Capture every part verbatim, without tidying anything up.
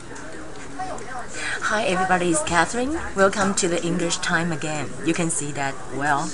Hi everybody, it's Catherine. Welcome to the English time again. You can see that, well,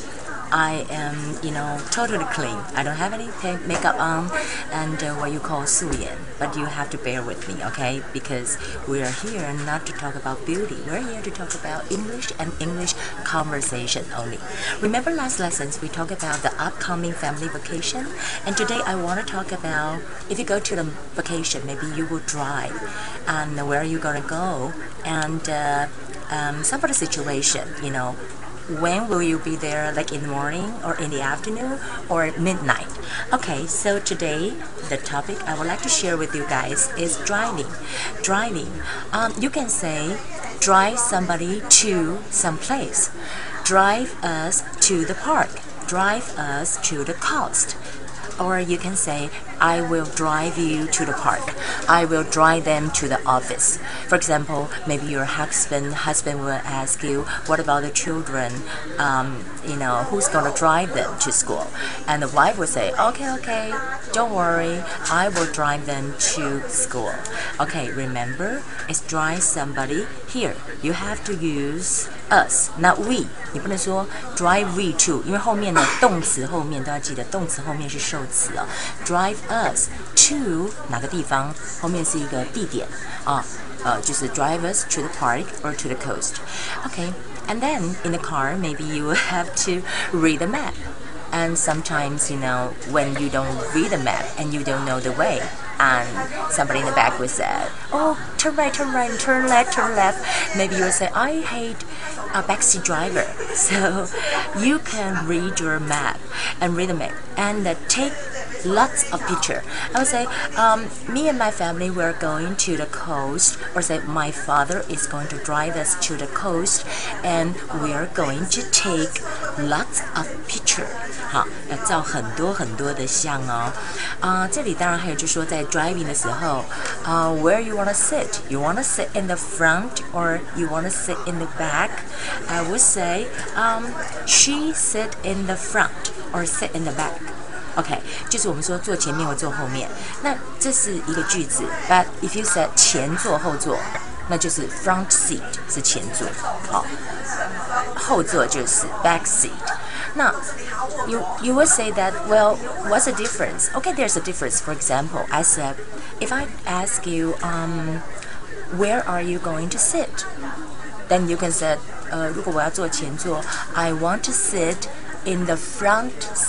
I am, you know, totally clean. I don't have any makeup on and uh, what you call 素颜. But you have to bear with me, okay? Because we are here not to talk about beauty. We're here to talk about English and English conversation only. Remember last lessons we talked about the upcoming family vacation? And today I want to talk about if you go to the vacation, maybe you will drive. And where are you going to go? And uh, um, some of the situation, you know, when will you be there, like in the morning or in the afternoon or midnight? Okay, so today the topic I would like to share with you guys is driving. Driving. Um, you can say drive somebody to some place. Drive us to the park. Drive us to the coast. Or you can say, I will drive you to the park. I will drive them to the office. For example, maybe your husband husband will ask you, what about the children? Um, you know, who's going to drive them to school? And the wife will say, okay, okay, don't worry, I will drive them to school. Okay, remember, it's drive somebody here. You have to use us, not we. 你不能说 drive we to， 因为后面的动词后面都要记得，动词后面是受词哦。Drive us to 哪个地方？后面是一个地点啊，呃，就是 drive us to the park or to the coast. Okay, and then in the car, maybe you will have to read the map. And sometimes, you know, when you don't read the map and you don't know the way, and somebody in the back will say, oh, turn right, turn right, turn left, turn left. Maybe you will say, I hate a backseat driver. So you can read your map and read the map and uh, take lots of picture. I would say, um, me and my family, we're going to the coast, or say my father is going to drive us to the coast, and we are going to take lots of picture. 好，要照很多很多的相哦。啊、呃，这里当然还有就是说在 driving 的时候，啊、uh, ，where you wanna sit? You wanna sit in the front or you wanna sit in the back? I would say, um, she sit in the front or sit in the back. OK， 就是我们说坐前面或坐后面，那这是一个句子。But if you said 前座后座，那就是 front seat 是前座，好，后座就是 back seat。那 you you would say that, well, what's the difference? Okay, there's a difference. For example, I said, if I ask you, um, where are you going to sit? Then you can say, 呃，如果我要坐前座 I want to sit in the front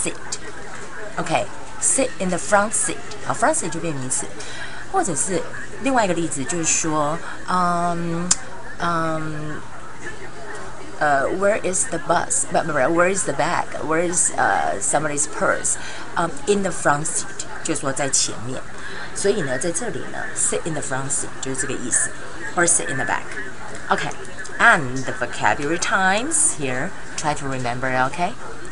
seat.OK, sit in the front seat. 好 ，front seat 就变名词，或者是另外一个例子，就是说，嗯嗯，呃、uh, ，Where is the bus? 不不不 ，Where is the bag? Where is 呃、uh, somebody's purse? Um, in the front seat， 就是说在前面。所以呢，在这里呢 ，sit in the front seat 就是这个意思 ，or sit in the back. Okay, and the vocabulary times here. Try to remember. Okay,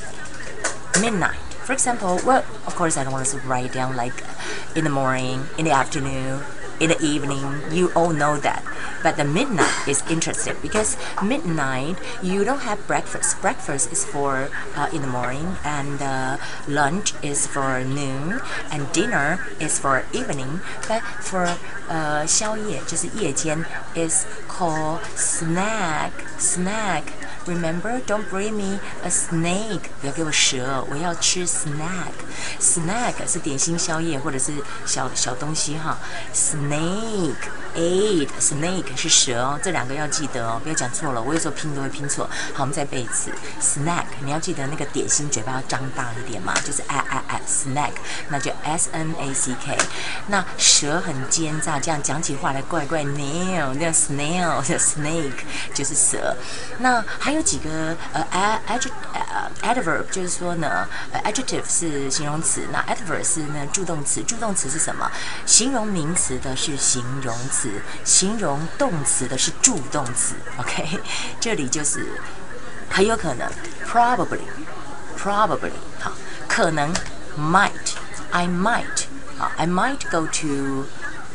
midnight.For example, well, of course, I don't want to write down like in the morning, in the afternoon, in the evening. You all know that. But the midnight is interesting because midnight, you don't have breakfast. Breakfast is for uh, in the morning, and uh, lunch is for noon, and dinner is for evening. But for uh, 宵夜就是夜间 is called snack. Snack.Remember, don't bring me a snake. 不要给我蛇，我要吃 snack. Snack 是点心、宵夜或者是小小东西哈。Snake, eight, snake 是蛇哦，这两个要记得哦，不要讲错了。我有时候拼都会拼错。好，我们再背一次。Snack， 你要记得那个点心嘴巴要张大一点嘛，就是啊啊啊 snack， 那就 S N A C K。那蛇很奸诈，这样讲起话来怪怪 nail， 那 snail 叫 snake 就是蛇。那还有几个呃 adjective 呃 adverb 就是说呢，呃 adjective 是形容词，那 adverb 是呢助动词。助动词是什么？形容名词的是形容词，形容动词的是助动词。OK， 这里就是很有可能 probably probably 好，可能 might I might 好 I might go to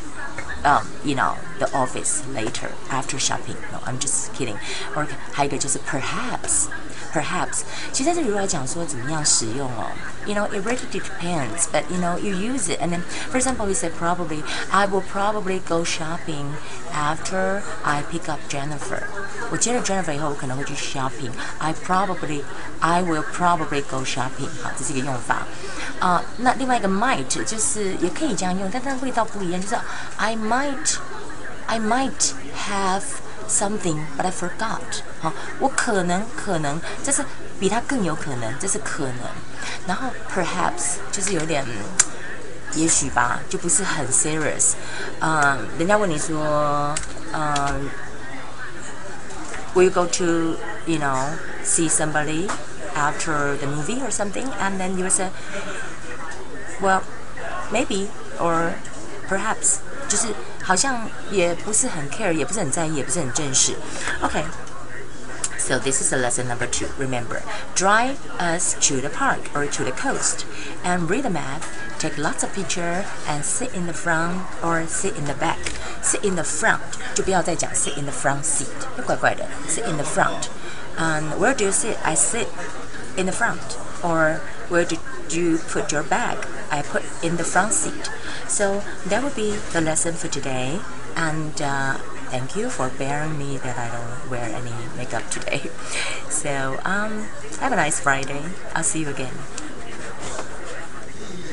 Um, you know, the office later after shopping. No, I'm just kidding. Or 还有一个就是 perhaps, perhaps， 其实在这里如果来讲说怎么样使用哦 ，you know it really depends, but you know you use it, and then for example we say probably I will probably go shopping after I pick up Jennifer。我接了 Jennifer 以后，我可能会去 shopping。I probably I will probably go shopping。好，这是一个用法。啊、呃，那另外一个 might 就是也可以这样用，但它味道不一样，就是 I might I might have something but I forgot。好，我可能可能，这是比它更有可能，这是可能。然后 perhaps 就是有点。也许吧，就不是很 serious。嗯，人家问你说，嗯 ，Will you go to you know see somebody after the movie or something? And then you will say, well, maybe or perhaps， 就是好像也不是很 care， 也不是很在意，也不是很正式。OK。So this is a lesson number two. Remember, drive us to the park or to the coast and read the map, take lots of pictures and sit in the front or sit in the back. Sit in the front 就不要再讲 sit in the front seat， 就怪怪的 sit in the front. And where do you sit? I sit in the front. Or where did you put your bag? I put in the front seat. So that would be the lesson for today. And uh, thank you for bearing me that I don't wear any makeup today. So um, have a nice Friday. I'll see you again.